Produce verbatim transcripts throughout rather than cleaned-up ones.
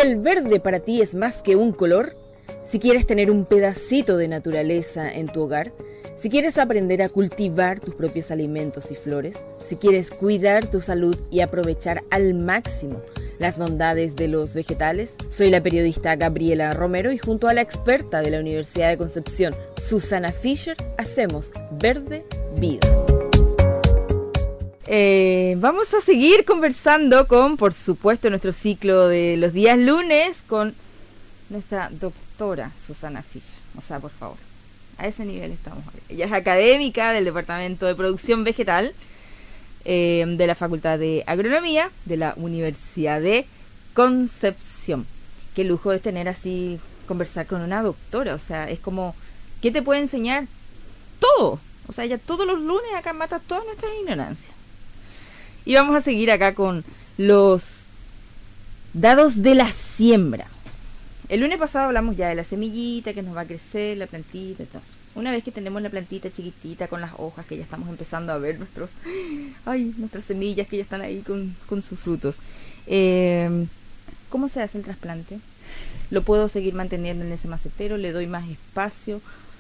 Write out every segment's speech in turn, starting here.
el verde para ti es más que un color, si quieres tener un pedacito de naturaleza en tu hogar, si quieres aprender a cultivar tus propios alimentos y flores, si quieres cuidar tu salud y aprovechar al máximo las bondades de los vegetales, soy la periodista Gabriela Romero y junto a la experta de la Universidad de Concepción, Susana Fischer, hacemos Verde Vida. Eh, vamos a seguir conversando con, por supuesto, nuestro ciclo de los días lunes con nuestra doctora Susana Fischer. O sea, por favor, a ese nivel estamos hoy. Ella es académica del Departamento de Producción Vegetal eh, de la Facultad de Agronomía de la Universidad de Concepción. Qué lujo es tener así, conversar con una doctora. O sea, es como, ¿qué te puede enseñar? Todo. O sea, ella todos los lunes acá mata todas nuestras ignorancias. Y vamos a seguir acá con los dados de la siembra. El lunes pasado hablamos ya de la semillita que nos va a crecer, la plantita y todo. Una vez que tenemos la plantita chiquitita con las hojas, que ya estamos empezando a ver nuestros, ay, nuestras semillas que ya están ahí con, con sus frutos. Eh, ¿Cómo se hace el trasplante? ¿Lo puedo seguir manteniendo en ese macetero? ¿Le doy más espacio?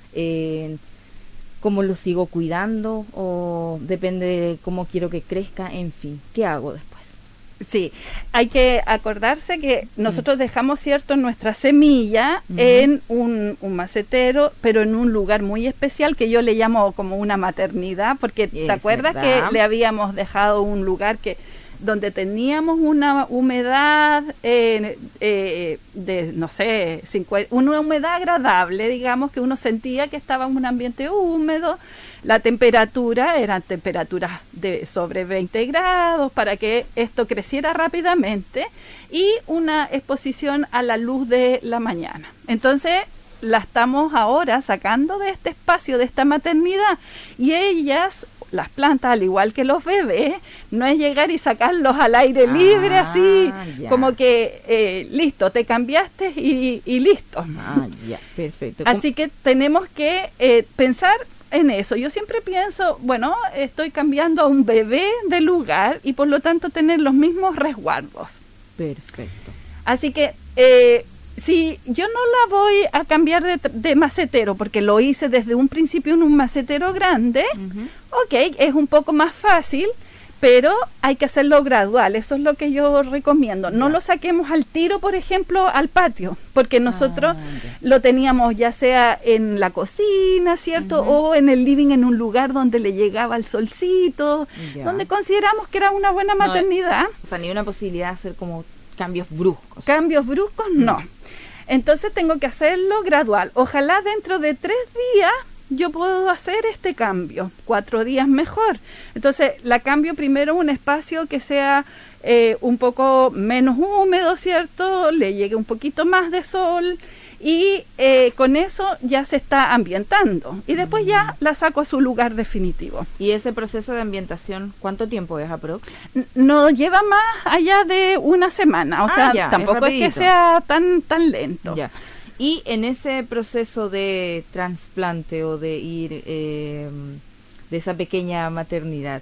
Eh, ¿Cómo lo sigo cuidando? ¿O depende de cómo quiero que crezca? En fin, ¿qué hago después? Sí, hay que acordarse que nosotros dejamos, cierto, nuestra semilla uh-huh. en un, un macetero, pero en un lugar muy especial que yo le llamo como una maternidad, porque ¿te acuerdas verdad? que le habíamos dejado un lugar que donde teníamos una humedad eh, eh, de, no sé, cincuenta, una humedad agradable, digamos, que uno sentía que estaba en un ambiente húmedo, la temperatura eran temperaturas de sobre veinte grados para que esto creciera rápidamente y una exposición a la luz de la mañana. Entonces, la estamos ahora sacando de este espacio, de esta maternidad, y ellas, las plantas, al igual que los bebés, no es llegar y sacarlos al aire libre, ah, así, ya. como que, eh, listo, te cambiaste y, y listo. Ah, ya, perfecto. Así que tenemos que eh, pensar en eso. Yo siempre pienso, bueno, estoy cambiando a un bebé de lugar y por lo tanto tener los mismos resguardos. Perfecto. Así que, eh, si yo no la voy a cambiar de, de macetero, porque lo hice desde un principio en un macetero grande, uh-huh. ok, es un poco más fácil, pero hay que hacerlo gradual, eso es lo que yo recomiendo. No yeah. lo saquemos al tiro, por ejemplo, al patio, porque nosotros ah, yeah. lo teníamos ya sea en la cocina, ¿cierto? Uh-huh. O en el living, en un lugar donde le llegaba el solcito, yeah. donde consideramos que era una buena maternidad. No, o sea, ni una posibilidad de hacer como cambios bruscos. Cambios bruscos, no. Mm. Entonces tengo que hacerlo gradual. Ojalá dentro de tres días yo puedo hacer este cambio. Cuatro días mejor. Entonces la cambio primero en un espacio que sea eh, un poco menos húmedo, ¿cierto? Le llegue un poquito más de sol y eh, con eso ya se está ambientando. Y después mm. ya la saco a su lugar definitivo. ¿Y ese proceso de ambientación cuánto tiempo es aprox? No lleva más allá de una semana. O ah, sea, ya, tampoco es, es que sea tan, tan lento. Ya. Y en ese proceso de trasplante o de ir eh, de esa pequeña maternidad,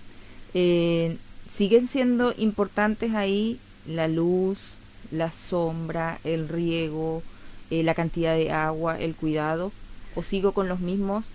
eh, ¿siguen siendo importantes ahí la luz, la sombra, el riego, eh, la cantidad de agua, el cuidado? ¿O sigo con los mismos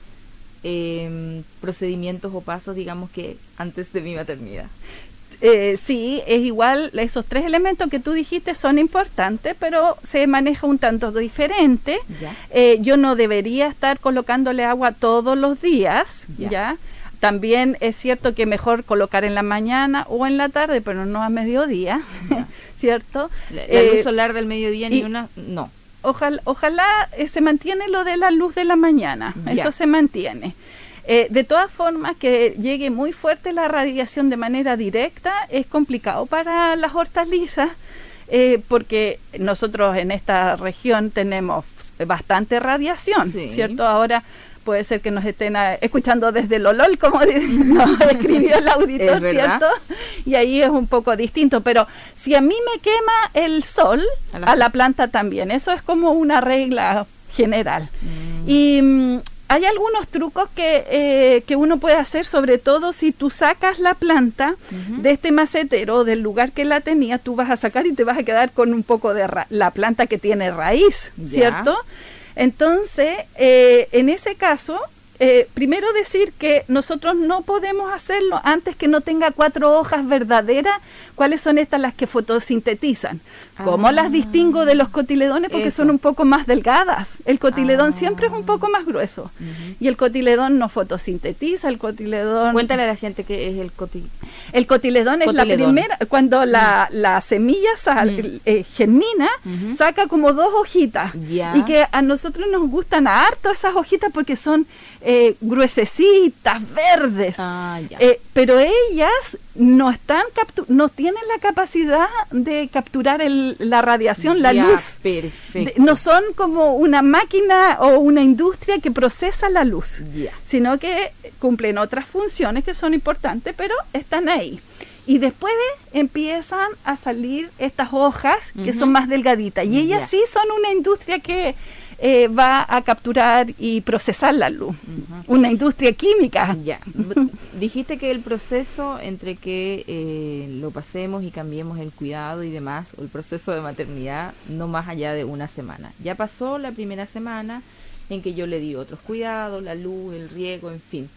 eh, procedimientos o pasos, digamos, que antes de mi maternidad? Eh, sí, es igual, esos tres elementos que tú dijiste son importantes, pero se maneja un tanto diferente. Eh, yo no debería estar colocándole agua todos los días, ya. ¿ya? También es cierto que mejor colocar en la mañana o en la tarde, pero no a mediodía, ¿cierto? La, la eh, luz solar del mediodía ni una, no. Ojalá, ojalá eh, se mantiene lo de la luz de la mañana, ya. Eso se mantiene. Eh, de todas formas, que llegue muy fuerte la radiación de manera directa es complicado para las hortalizas, eh, porque nosotros en esta región tenemos bastante radiación, sí. ¿cierto? Ahora puede ser que nos estén a, escuchando desde el Olol, como nos escribió el auditor, ¿cierto? Y ahí es un poco distinto, pero si a mí me quema el sol, a la, a la planta también, eso es como una regla general. Mm. Y hay algunos trucos que, eh, que uno puede hacer, sobre todo si tú sacas la planta uh-huh. de este macetero, del lugar que la tenía, tú vas a sacar y te vas a quedar con un poco de ra- la planta que tiene raíz, ya. ¿cierto? Entonces, eh, en ese caso, eh, primero decir que nosotros no podemos hacerlo antes que no tenga cuatro hojas verdaderas. ¿Cuáles son estas las que fotosintetizan? ¿Cómo ah, las distingo de los cotiledones? Porque eso. Son un poco más delgadas. El cotiledón ah. siempre es un poco más grueso. Uh-huh. Y el cotiledón no fotosintetiza, el cotiledón... Cuéntale a la gente qué es el cotiledón. El cotiledón, cotiledón es la primera, cuando la, uh-huh. la semilla sal, uh-huh. eh, germina, uh-huh. saca como dos hojitas. Yeah. Y que a nosotros nos gustan harto esas hojitas porque son eh, gruesecitas, verdes. Ah, yeah. eh, pero ellas no están captu- no tienen la capacidad de capturar el, la radiación, la ya, luz. Perfecto. De, no son como una máquina o una industria que procesa la luz, ya. sino que cumplen otras funciones que son importantes, pero están ahí. Y después de, empiezan a salir estas hojas que uh-huh. son más delgaditas. Y ellas ya. sí son una industria que eh, va a capturar y procesar la luz. Uh-huh. Una industria química. Ya. Dijiste que el proceso entre que eh, lo pasemos y cambiemos el cuidado y demás, o el proceso de maternidad, no más allá de una semana. Ya pasó la primera semana en que yo le di otros cuidados, la luz, el riego, en fin.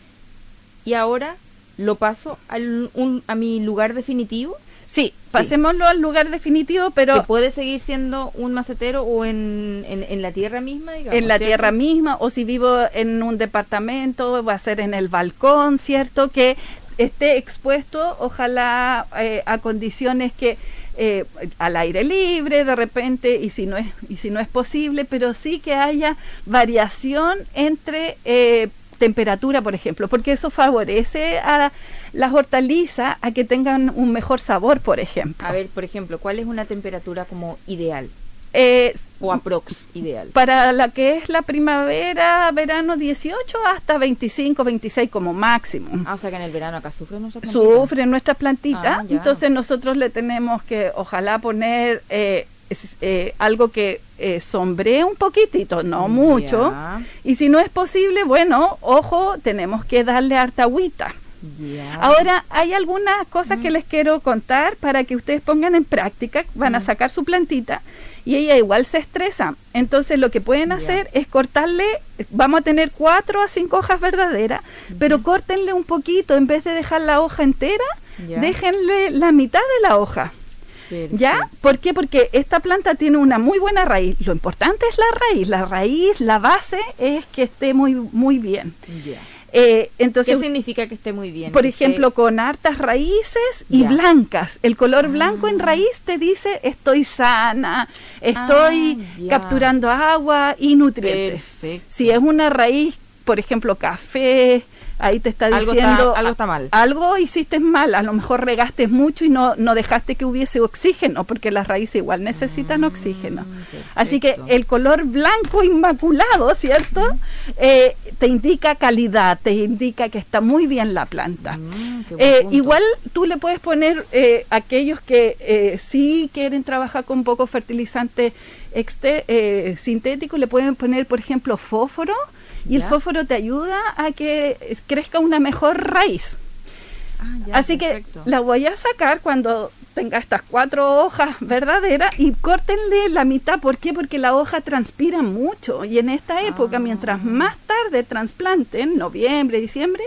Y ahora... ¿lo paso al, un, a mi lugar definitivo? Sí, pasémoslo sí. al lugar definitivo, pero... ¿Que puede seguir siendo un macetero o en, en, en la tierra misma, digamos? En la ¿cierto? tierra misma, o si vivo en un departamento, va a ser en el balcón, ¿cierto? Que esté expuesto, ojalá, eh, a condiciones que... Eh, al aire libre de repente, y si no es, y si no es posible, pero sí que haya variación entre... Eh, temperatura, por ejemplo, porque eso favorece a las hortalizas a que tengan un mejor sabor, por ejemplo. A ver, por ejemplo, ¿cuál es una temperatura como ideal? Eh, o aprox ideal. Para la que es la primavera, verano, dieciocho hasta veinticinco, veintiséis como máximo. Ah, o sea que en el verano acá sufren nuestras plantitas. Sufren nuestras plantitas, ah, entonces nosotros le tenemos que, ojalá, poner... Eh, Es, eh, algo que eh, sombree un poquitito, no mucho, yeah. y si no es posible, bueno, ojo, tenemos que darle harta agüita. Yeah. Ahora, hay algunas cosas mm. que les quiero contar para que ustedes pongan en práctica. Van mm. a sacar su plantita y ella igual se estresa, entonces lo que pueden yeah. hacer es cortarle, vamos a tener cuatro a cinco hojas verdaderas, mm. pero córtenle un poquito, en vez de dejar la hoja entera, yeah. déjenle la mitad de la hoja. ¿Ya? ¿Por qué? Porque esta planta tiene una muy buena raíz. Lo importante es la raíz. La raíz, la base es que esté muy, muy bien. Yeah. Eh, entonces, ¿qué significa que esté muy bien? Por ejemplo, esté... con hartas raíces y yeah. blancas. El color ah. blanco en raíz te dice estoy sana, estoy ah, yeah. capturando agua y nutrientes. Perfecto. Si es una raíz, por ejemplo, café... Ahí te está algo diciendo... Está, algo está mal. Algo hiciste mal, a lo mejor regaste mucho y no, no dejaste que hubiese oxígeno, porque las raíces igual necesitan mm, oxígeno. Perfecto. Así que el color blanco inmaculado, ¿cierto? Mm. Eh, te indica calidad, te indica que está muy bien la planta. Mm, eh, igual tú le puedes poner, eh, aquellos que eh, sí quieren trabajar con poco fertilizante exter- eh, sintético, le pueden poner, por ejemplo, fósforo. Y ¿ya? El fósforo te ayuda a que crezca una mejor raíz. Ah, ya, así perfecto. Que la voy a sacar cuando tenga estas cuatro hojas verdaderas y córtenle la mitad. ¿Por qué? Porque la hoja transpira mucho. Y en esta época, ah. mientras más tarde trasplanten, noviembre, diciembre,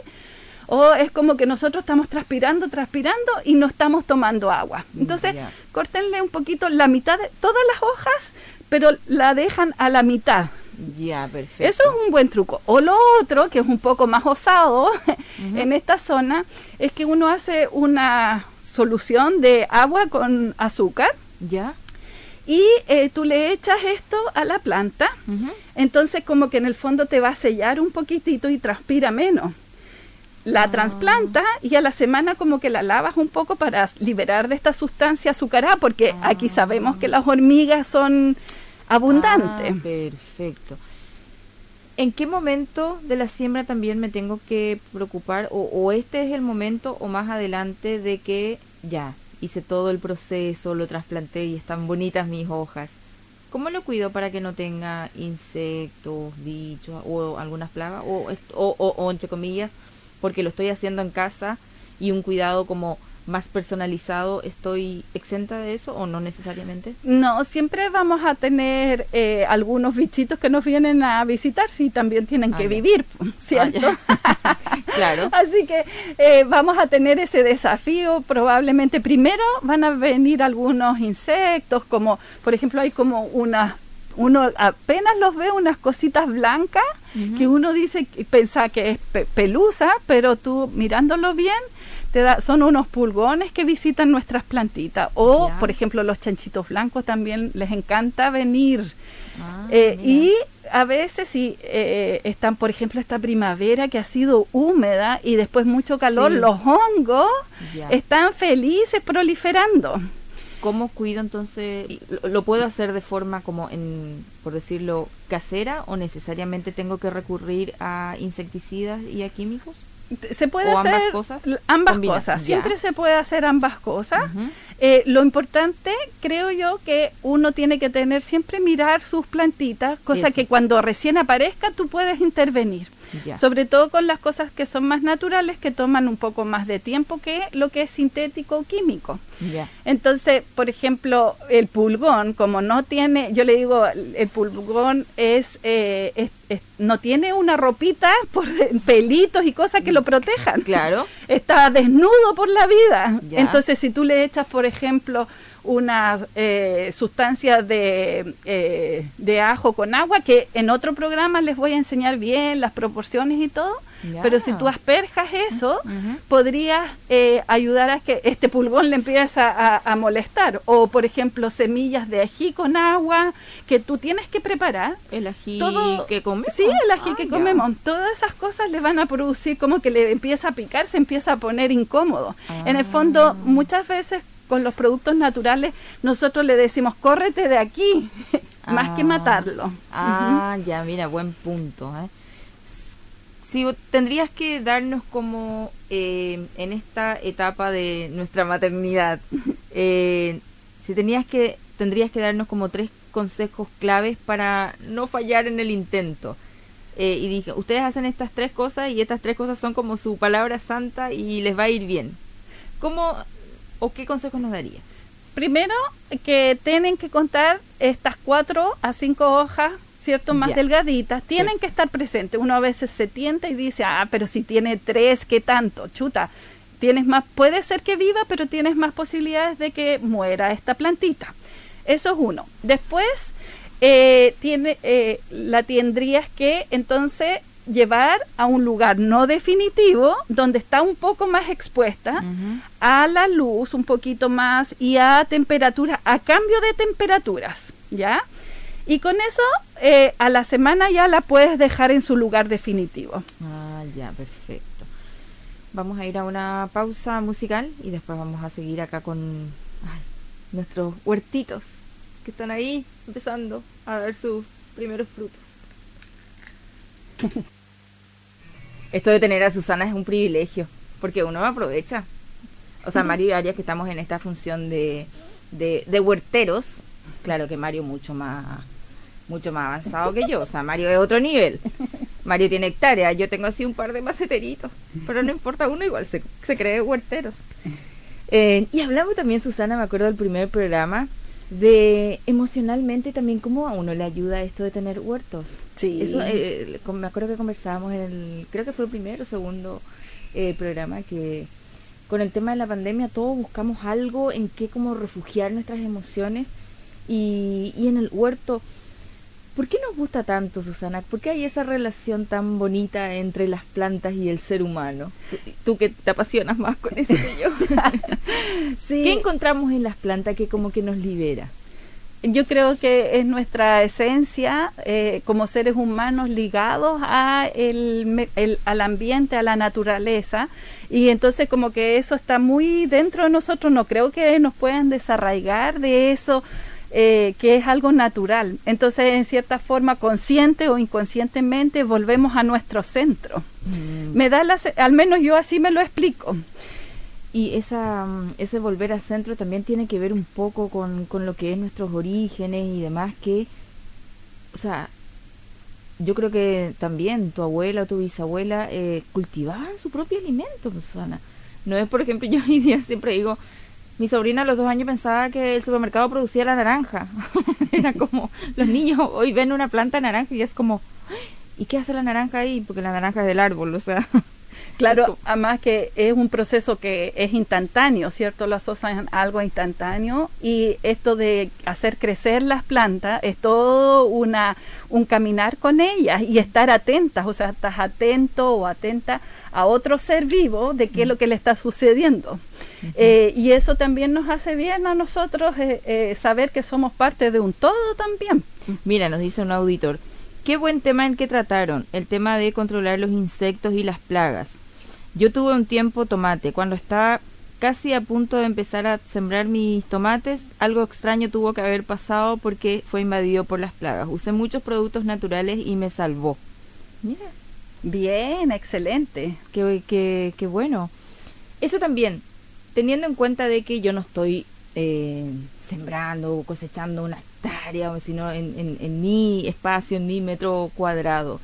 o es como que nosotros estamos transpirando, transpirando y no estamos tomando agua. Entonces, yeah. córtenle un poquito la mitad de todas las hojas, pero la dejan a la mitad. Ya, yeah, perfecto. Eso es un buen truco. O lo otro, que es un poco más osado uh-huh. en esta zona, es que uno hace una solución de agua con azúcar. Ya. Yeah. Y eh, tú le echas esto a la planta. Uh-huh. Entonces como que en el fondo te va a sellar un poquitito y transpira menos. La ah. trasplanta y a la semana como que la lavas un poco para liberar de esta sustancia azucarada, porque ah. aquí sabemos que las hormigas son... abundante. Ah, perfecto. ¿En qué momento de la siembra también me tengo que preocupar o, o este es el momento o más adelante de que ya hice todo el proceso, lo trasplanté y están bonitas mis hojas? ¿Cómo lo cuido para que no tenga insectos, bichos o algunas plagas? O, o, o, o entre comillas, porque lo estoy haciendo en casa y un cuidado como más personalizado, ¿estoy exenta de eso o no necesariamente? No, siempre vamos a tener eh, algunos bichitos que nos vienen a visitar, sí, también tienen ah, que ya. vivir, ¿cierto? Ah, claro. Así que eh, vamos a tener ese desafío, probablemente primero van a venir algunos insectos, como por ejemplo hay como unas, uno apenas los ve unas cositas blancas, uh-huh. que uno dice, piensa que es pe- pelusa, pero tú mirándolo bien, te da, son unos pulgones que visitan nuestras plantitas. O, yeah. por ejemplo, los chanchitos blancos también les encanta venir. Ah, eh, y a veces si eh, están, por ejemplo, esta primavera que ha sido húmeda y después mucho calor, sí. los hongos yeah. están felices proliferando. ¿Cómo cuido entonces? ¿Lo, ¿Lo puedo hacer de forma como, en, por decirlo, casera o necesariamente tengo que recurrir a insecticidas y a químicos? Se puede ¿O hacer ambas cosas, ambas combina, cosas, ya. siempre se puede hacer ambas cosas. Uh-huh. Eh, lo importante, creo yo, que uno tiene que tener siempre mirar sus plantitas, cosa Eso. que cuando recién aparezca tú puedes intervenir. Ya. Sobre todo con las cosas que son más naturales, que toman un poco más de tiempo que lo que es sintético o químico. Ya. Entonces, por ejemplo, el pulgón, como no tiene, yo le digo, el pulgón es, eh, es, es no tiene una ropita por pelitos y cosas que lo protejan. Claro. Está desnudo por la vida. Ya. Entonces, si tú le echas, por ejemplo, unas eh, sustancias de, eh, de ajo con agua, que en otro programa les voy a enseñar bien las proporciones y todo, yeah. pero si tú asperjas eso, uh-huh. podrías eh, ayudar a que este pulgón le empiece a, a molestar. O, por ejemplo, semillas de ají con agua, que tú tienes que preparar. ¿El ají todo, que comemos? Sí, el ají ah, que ya. comemos. Todas esas cosas le van a producir como que le empieza a picar, se empieza a poner incómodo. Ah. En el fondo, muchas veces con los productos naturales nosotros le decimos córrete de aquí más ah, que matarlo. Ah, uh-huh. ya, mira, buen punto. ¿eh? Si tendrías que darnos como eh, en esta etapa de nuestra maternidad, eh, si tenías que tendrías que darnos como tres consejos claves para no fallar en el intento. Eh, y dije, ustedes hacen estas tres cosas y estas tres cosas son como su palabra santa y les va a ir bien. ¿Cómo o qué consejos nos daría? Primero, que tienen que contar estas cuatro a cinco hojas, ¿cierto? Más yeah. delgaditas. Tienen sí. que estar presentes. Uno a veces se tienta y dice, ah, pero si tiene tres, ¿qué tanto? Chuta, tienes más, puede ser que viva, pero tienes más posibilidades de que muera esta plantita. Eso es uno. Después, eh, tiene, eh, la tendrías que, entonces, llevar a un lugar no definitivo donde está un poco más expuesta uh-huh. a la luz un poquito más y a temperatura, a cambio de temperaturas, ¿ya? Y con eso eh, a la semana ya la puedes dejar en su lugar definitivo. Ah, ya, perfecto. Vamos a ir a una pausa musical y después vamos a seguir acá con ay, nuestros huertitos que están ahí empezando a dar sus primeros frutos. Esto de tener a Susana es un privilegio, porque uno aprovecha. O sea, uh-huh. Mario y Arias, que estamos en esta función de, de, de huerteros, claro que Mario mucho más mucho más avanzado que yo, o sea, Mario es otro nivel. Mario tiene hectáreas, yo tengo así un par de maceteritos, pero no importa, uno igual se, se cree huerteros. Eh, y hablamos también, Susana, me acuerdo del primer programa, de emocionalmente también cómo a uno le ayuda esto de tener huertos. Sí. Eso, eh, me acuerdo que conversábamos en el, creo que fue el primero o segundo eh, programa, que con el tema de la pandemia todos buscamos algo en que como refugiar nuestras emociones y, y en el huerto. ¿Por qué nos gusta tanto, Susana? ¿Por qué hay esa relación tan bonita entre las plantas y el ser humano? Tú, tú que te apasionas más con eso que yo. Sí. ¿Qué encontramos en las plantas que como que nos libera? Yo creo que es nuestra esencia eh, como seres humanos ligados a el, el, al ambiente, a la naturaleza, y entonces como que eso está muy dentro de nosotros. No creo que nos puedan desarraigar de eso, eh, que es algo natural. Entonces, en cierta forma, consciente o inconscientemente, volvemos a nuestro centro. Mm. Me da la, al menos yo así me lo explico. Y esa ese volver al centro también tiene que ver un poco con, con lo que es nuestros orígenes y demás, que, o sea, yo creo que también tu abuela o tu bisabuela eh, cultivaban su propio alimento, Susana. No es, por ejemplo, yo hoy día siempre digo, mi sobrina a los dos años pensaba que el supermercado producía la naranja. Era como, los niños hoy ven una planta de naranja y es como, ¿y qué hace la naranja ahí? Porque la naranja es del árbol, o sea... Claro, como... además que es un proceso que es instantáneo, ¿cierto? Lo asocian a algo instantáneo, y esto de hacer crecer las plantas es todo una un caminar con ellas y estar atentas, o sea, estás atento o atenta a otro ser vivo de qué es lo que le está sucediendo. Uh-huh. eh, y eso también nos hace bien a nosotros eh, eh, saber que somos parte de un todo también. Mira, nos dice un auditor, qué buen tema el que trataron, el tema de controlar los insectos y las plagas. Yo tuve un tiempo tomate, cuando estaba casi a punto de empezar a sembrar mis tomates, algo extraño tuvo que haber pasado porque fue invadido por las plagas. Usé muchos productos naturales y me salvó. Mira. Bien, excelente. Qué, qué, qué bueno. Eso también, teniendo en cuenta de que yo no estoy eh, sembrando o cosechando una hectárea, sino en, en, en mi espacio, en mi metro cuadrado.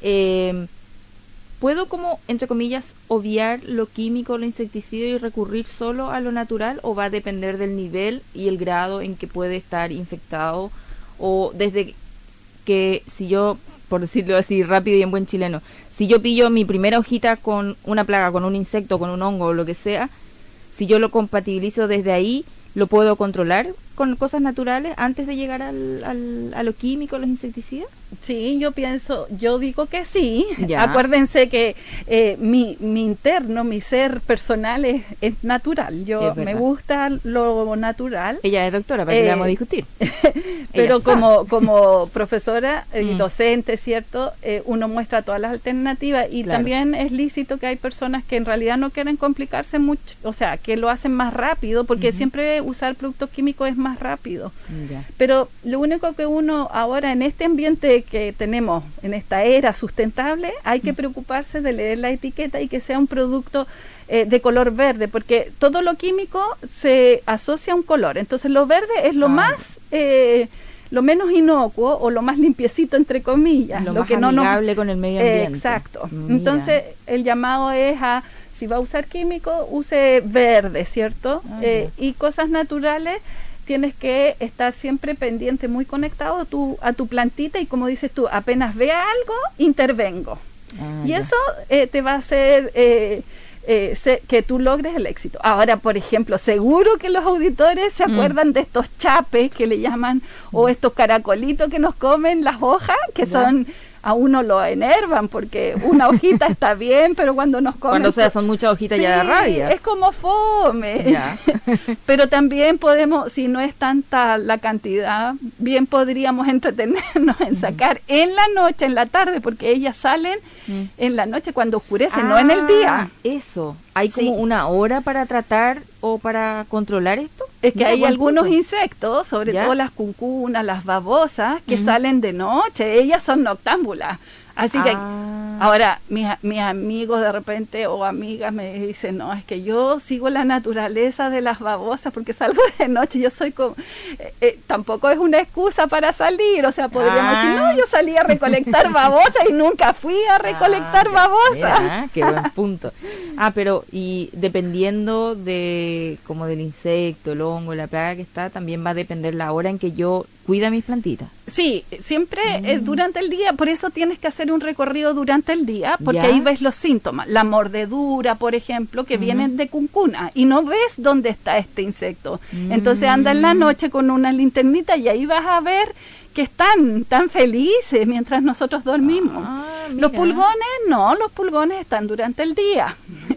Eh, ¿Puedo como, entre comillas, obviar lo químico, lo insecticida y recurrir solo a lo natural, o va a depender del nivel y el grado en que puede estar infectado? O desde que, si yo, por decirlo así rápido y en buen chileno, si yo pillo mi primera hojita con una plaga, con un insecto, con un hongo o lo que sea, si yo lo compatibilizo desde ahí, ¿lo puedo controlar con cosas naturales antes de llegar al, al, a lo químico, a los insecticidas? Sí, yo pienso, yo digo que sí. Ya. Acuérdense que eh, mi, mi interno, mi ser personal es, es natural. Yo es me gusta lo natural. Ella es doctora, para que eh, le vamos a discutir. Pero Ella como, sabe. como profesora y Mm. docente, ¿cierto? Eh, uno muestra todas las alternativas, y Claro. también es lícito que hay personas que en realidad no quieren complicarse mucho, o sea, que lo hacen más rápido, porque Ujú. siempre usar productos químicos es más rápido. Ya. Pero lo único que uno ahora en este ambiente que tenemos, en esta era sustentable, hay que preocuparse de leer la etiqueta y que sea un producto eh, de color verde, porque todo lo químico se asocia a un color. Entonces lo verde es lo Ah. más, eh, lo menos inocuo o lo más limpiecito, entre comillas. Lo, lo más que no nos- amigable con el medio ambiente. Exacto. Mira. Entonces el llamado es a, si va a usar químico, use verde, ¿cierto? Ah, Eh, y cosas naturales, tienes que estar siempre pendiente, muy conectado a tu, a tu plantita, y como dices tú, apenas vea algo, intervengo. Ah, y ya. eso eh, te va a hacer eh, eh, se- que tú logres el éxito. Ahora, por ejemplo, seguro que los auditores se Mm. acuerdan de estos chapes que le llaman, o estos caracolitos que nos comen las hojas, que Ya. son... A uno lo enervan porque una hojita está bien, pero cuando nos comen... Cuando o sea, son muchas hojitas Sí, ya de rabia. es como fome. Ya. Pero también podemos, si no es tanta la cantidad, bien podríamos entretenernos en sacar en la noche, en la tarde, porque ellas salen Mm. en la noche cuando oscurece, no en el día. Ah, eso. ¿Hay como Sí. una hora para tratar o para controlar esto? Es que Mira, hay buen algunos punto. insectos, sobre ¿Ya? todo las cuncunas, las babosas, que Ujú. salen de noche. Ellas son noctámbulas. Así que Ah. ahora mis, mis amigos de repente o amigas me dicen, no, es que yo sigo la naturaleza de las babosas porque salgo de noche. Yo soy como, eh, eh, tampoco es una excusa para salir. O sea, podríamos Ah. decir, no, yo salí a recolectar babosas y nunca fui a recolectar Ah, ya. babosas. Mira, qué buen punto. Ah, pero y dependiendo de como del insecto, el hongo, la plaga que está, también va a depender la hora en que yo cuida mis plantitas. Sí, siempre Mm. eh, durante el día, por eso tienes que hacer un recorrido durante el día, porque Ya. ahí ves los síntomas, la mordedura, por ejemplo, que Ujú. vienen de cuncuna, y no ves dónde está este insecto. Mm. Entonces anda en la noche con una linternita y ahí vas a ver que están tan felices mientras nosotros dormimos. Ah, Los mira. pulgones, no, los pulgones están durante el día.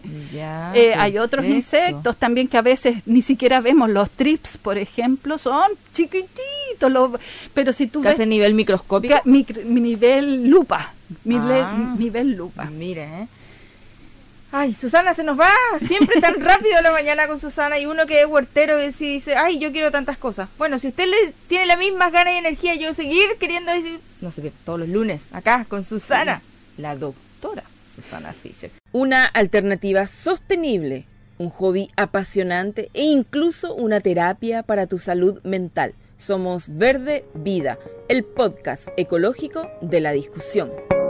Ya, Eh, hay otros perfecto. insectos también que a veces ni siquiera vemos. Los trips, por ejemplo, son chiquititos, los, pero si tú Casi a ves nivel microscópico. ca- micro- mi nivel lupa, mi le- Ah. nivel lupa. Mira, ¿eh? Ay, Susana, se nos va siempre tan rápido la mañana con Susana, y uno que es huertero y si dice, ay, yo quiero tantas cosas. Bueno, si usted le tiene las mismas ganas y energía, yo seguir queriendo decir, no sé, todos los lunes, acá con Susana, la doctora Susana Fischer. Una alternativa sostenible un hobby apasionante e incluso una terapia para tu salud mental. Somos Verde Vida, el podcast ecológico de la discusión.